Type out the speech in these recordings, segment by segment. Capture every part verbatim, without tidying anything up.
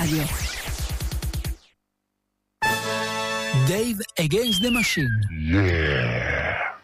Radio. Dave Against the Machine. Yeah.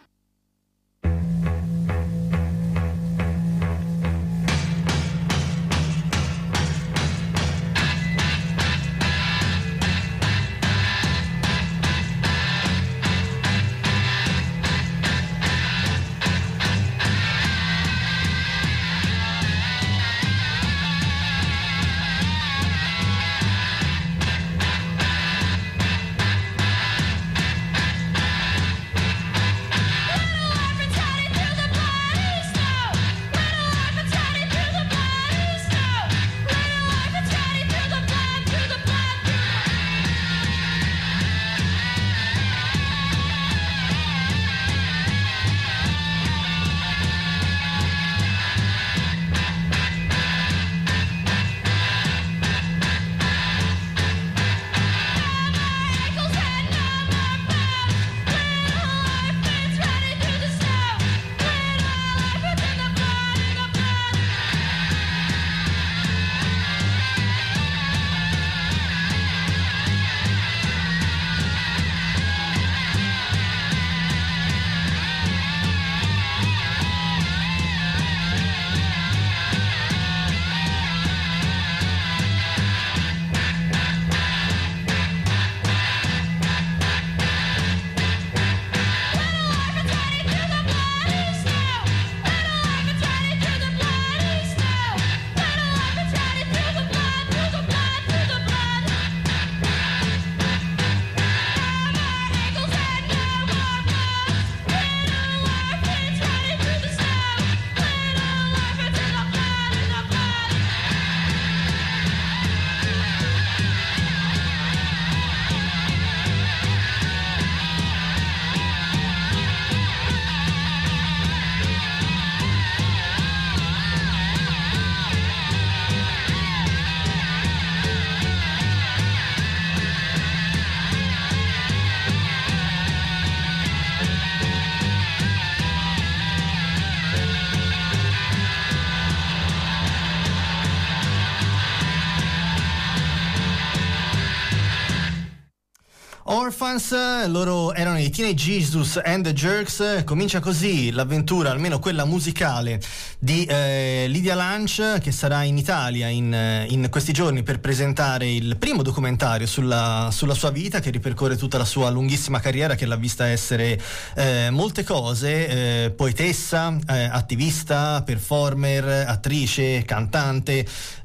Orphans, loro erano i Teenage Jesus and the Jerks. Comincia così l'avventura, almeno quella musicale, di eh, Lydia Lunch, che sarà in Italia in, in questi giorni per presentare il primo documentario sulla, sulla sua vita, che ripercorre tutta la sua lunghissima carriera, che l'ha vista essere eh, molte cose, eh, poetessa, eh, attivista, performer, attrice, cantante,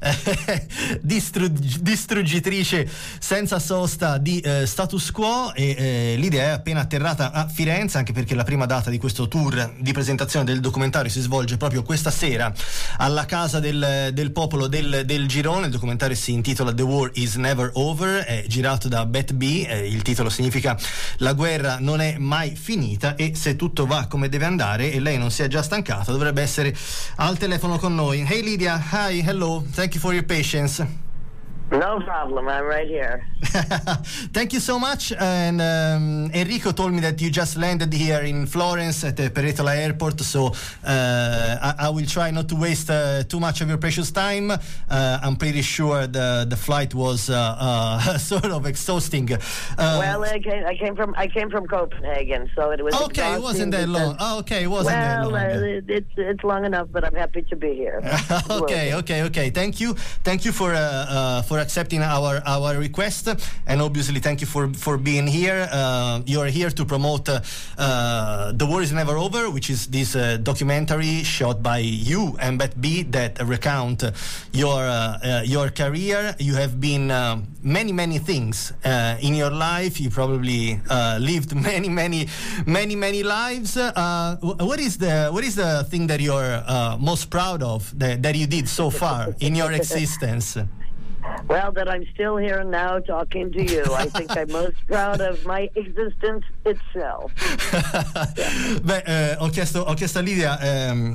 eh, distrugg- distruggitrice senza sosta di eh, status quo. E eh, Lydia è appena atterrata a Firenze, anche perché la prima data di questo tour di presentazione del documentario si svolge proprio questa sera alla Casa del, del Popolo del, del Girone. Il documentario si intitola The War is Never Over, è girato da Beth B, eh, il titolo significa La guerra non è mai finita, e se tutto va come deve andare e lei non si è già stancata, dovrebbe essere al telefono con noi. Hey Lydia, hi, hello, thank you for your patience. No problem, I'm right here. Thank you so much. And um, Enrico told me that you just landed here in Florence at the Peretola Airport, so uh, I, I will try not to waste uh, too much of your precious time. Uh, I'm pretty sure the the flight was uh, uh, sort of exhausting. Uh, well, I came, I came from I came from Copenhagen, so it was okay. It wasn't that long. Oh, okay, it wasn't well, that long. Well, uh, it's it's long enough, but I'm happy to be here. okay, okay, okay. Thank you, thank you for uh, uh, for accepting our our request, and obviously thank you for for being here. Uh, you're here to promote uh, uh, The War is Never Over, which is this uh, documentary shot by you and Beth B that recount your uh, uh, your career. You have been uh, many many things uh, in your life. You probably uh, lived many many many many lives. Uh, what is the what is the thing that you're uh, most proud of that, that you did so far in your existence? Well, that I'm still here now talking to you. I think I'm most proud of my existence itself. Beh, eh, ho chiesto ho chiesto a Lydia ehm,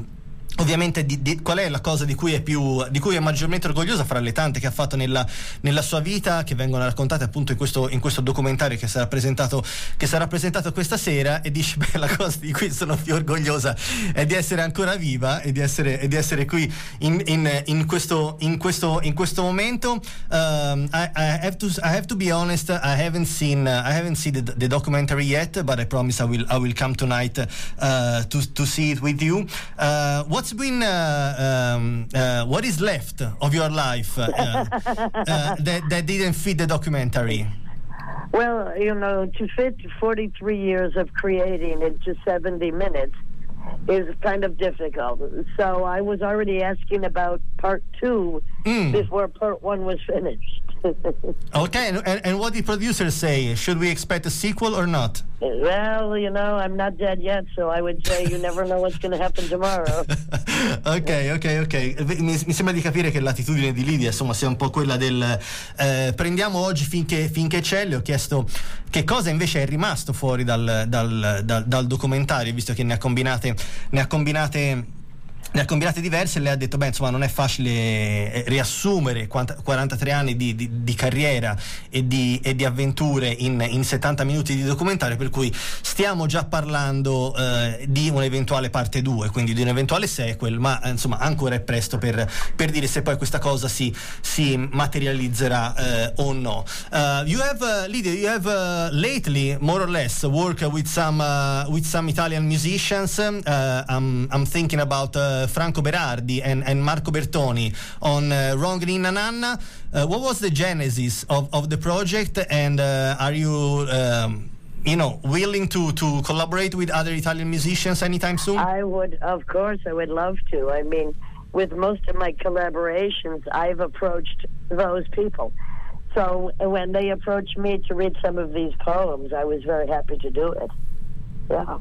ovviamente di, di, qual è la cosa di cui è più di cui è maggiormente orgogliosa fra le tante che ha fatto nella, nella sua vita, che vengono raccontate appunto in questo, in questo documentario che sarà presentato che sarà presentato questa sera, e dice beh, la cosa di cui sono più orgogliosa è di essere ancora viva e di essere, e di essere qui in, in, in, questo, in, questo, in questo momento. um, I, I, have to, I have to be honest, I haven't seen uh, I haven't seen the, the documentary yet, but I promise I will I will come tonight uh, to, to see it with you. Uh, what's been uh, um, uh, what is left of your life uh, uh, that, that didn't fit the documentary? Well, you know, to fit forty-three years of creating into seventy minutes is kind of difficult. So I was already asking about part two mm. before part one was finished. Okay, and, and what did producers say? Should we expect a sequel or not? Well, you know, I'm not dead yet, so I would say you never know what's going to happen tomorrow. ok, ok, ok. Mi, mi sembra di capire che l'attitudine di Lidia, insomma, sia un po' quella del eh, prendiamo oggi finché, finché c'è. Le ho chiesto che cosa invece è rimasto fuori dal, dal, dal, dal documentario, visto che ne ha combinate, ne ha combinate ne ha combinate diverse. Lei ha detto beh, insomma, non è facile riassumere quarantatré anni di, di, di carriera e di, e di avventure in, in settanta minuti di documentario, per cui stiamo già parlando eh, di un'eventuale parte due, quindi di un eventuale sequel, ma insomma ancora è presto per, per dire se poi questa cosa si, si materializzerà eh, o no. Uh, you have uh, Lidia, you have uh, lately more or less worked with some uh, with some Italian musicians. uh, I'm, I'm thinking about uh, Franco Berardi and, and Marco Bertoni on uh, Wrong Ninna Nanna. Uh, what was the genesis of, of the project, and uh, are you um, you know, willing to, to collaborate with other Italian musicians anytime soon? I would, of course, I would love to. I mean, with most of my collaborations, I've approached those people. So when they approached me to read some of these poems, I was very happy to do it. Yeah.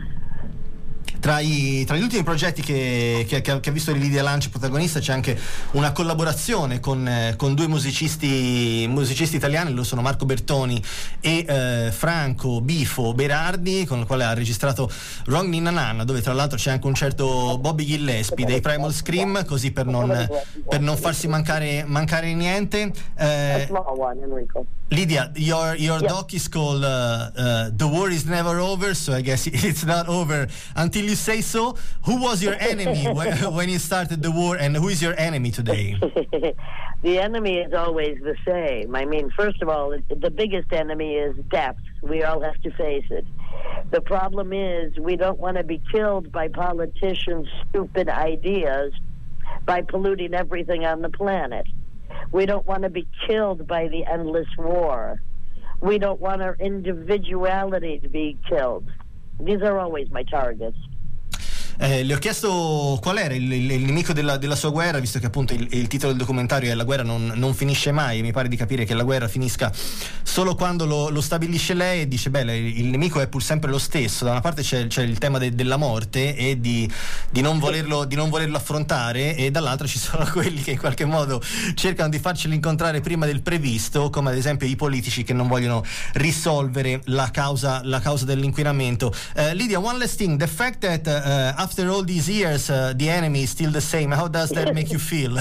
Tra, i, tra gli ultimi progetti che, che, che ha visto Lidia Lanci protagonista c'è anche una collaborazione con, eh, con due musicisti musicisti italiani. Loro sono Marco Bertoni e eh, Franco Bifo Berardi, con il quale ha registrato Wrong Ninna Nanna, dove tra l'altro c'è anche un certo Bobby Gillespie dei Primal Scream, così per non, per non farsi mancare, mancare niente. eh, Lidia, your your Yeah. doc is called uh, uh, The War is Never Over, so I guess it's not over until you say so. Who was your enemy when, when you started the war, and who is your enemy today? The enemy is always the same. I mean, first of all, the biggest enemy is death. We all have to face it. The problem is we don't want to be killed by politicians' stupid ideas by polluting everything on the planet. We don't want to be killed by the endless war. We don't want our individuality to be killed. These are always my targets. Eh, le ho chiesto qual era il, il, il nemico della, della sua guerra, visto che appunto il, il titolo del documentario è La guerra non, non finisce mai, e mi pare di capire che la guerra finisca solo quando lo, lo stabilisce lei, e dice beh, il nemico è pur sempre lo stesso. Da una parte c'è, c'è il tema de, della morte e di, di, non volerlo, di non volerlo affrontare, e dall'altra ci sono quelli che in qualche modo cercano di farceli incontrare prima del previsto, come ad esempio i politici che non vogliono risolvere la causa, la causa dell'inquinamento. uh, Lidia, one last thing, the fact that uh, after all these years, uh, the enemy is still the same. How does that make you feel?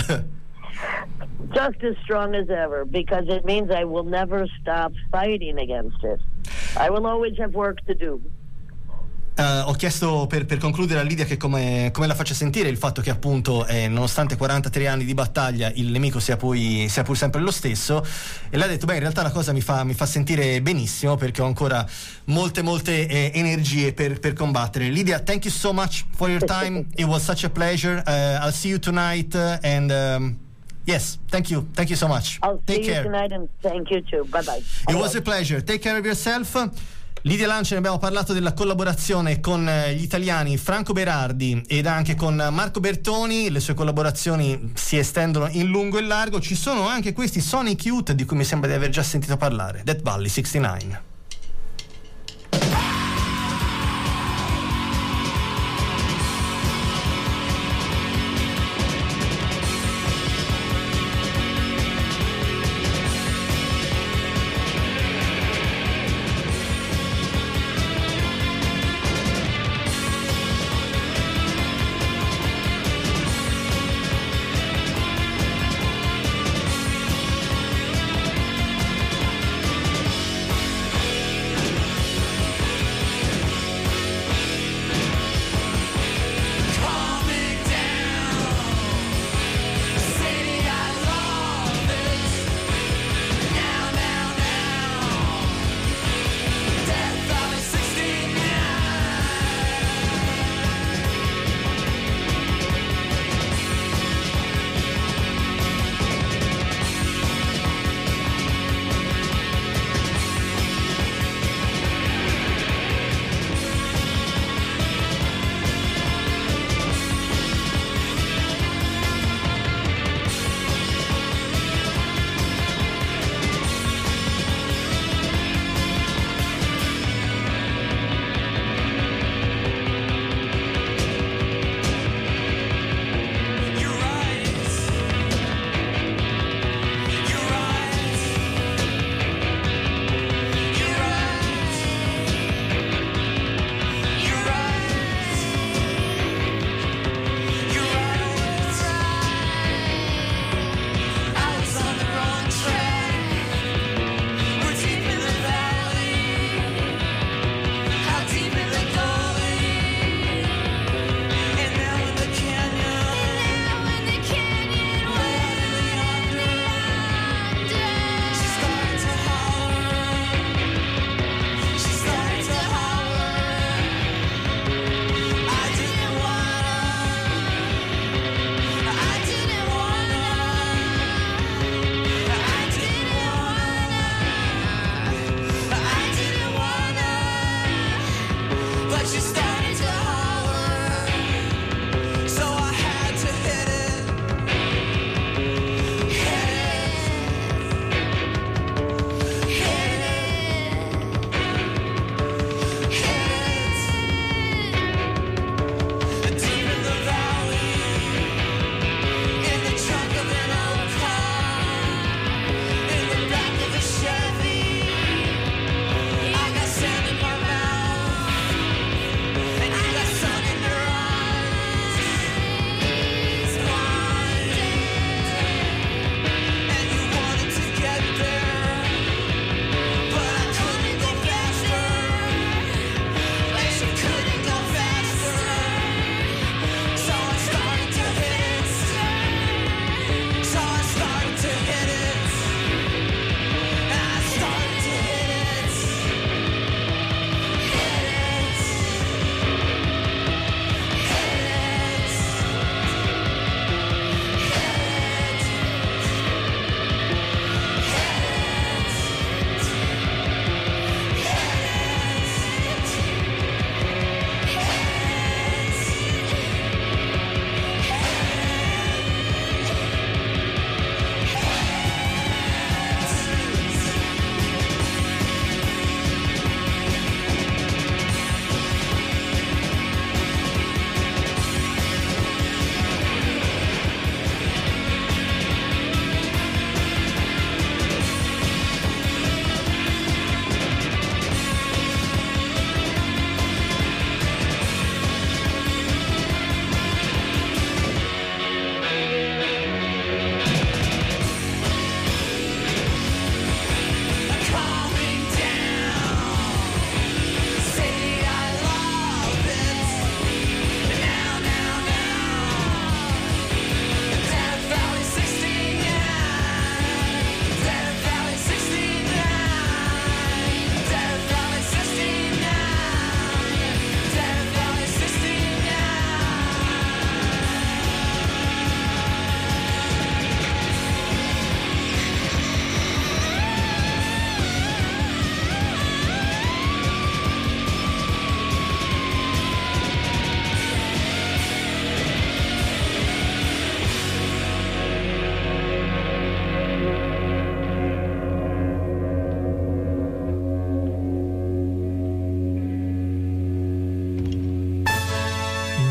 Just as strong as ever, because it means I will never stop fighting against it. I will always have work to do. Uh, ho chiesto per, per concludere a Lidia che come, come la faccia sentire il fatto che appunto eh, nonostante quarantatré anni di battaglia il nemico sia poi sia pur sempre lo stesso, e lei ha detto beh, in realtà la cosa mi fa, mi fa sentire benissimo, perché ho ancora molte molte eh, energie per, per combattere. Lidia, thank you so much for your time. It was such a pleasure. uh, I'll see you tonight, uh, and um, yes, thank you thank you so much. I'll Take see care. you tonight, and thank you too. Bye bye. It was a pleasure. Take care of yourself. Lidia Lanci, ne abbiamo parlato della collaborazione con gli italiani Franco Berardi ed anche con Marco Bertoni. Le sue collaborazioni si estendono in lungo e in largo. Ci sono anche questi Sonic Youth di cui mi sembra di aver già sentito parlare, Death Valley sessantanove.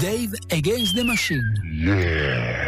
Dave Against the Machine. Yeah.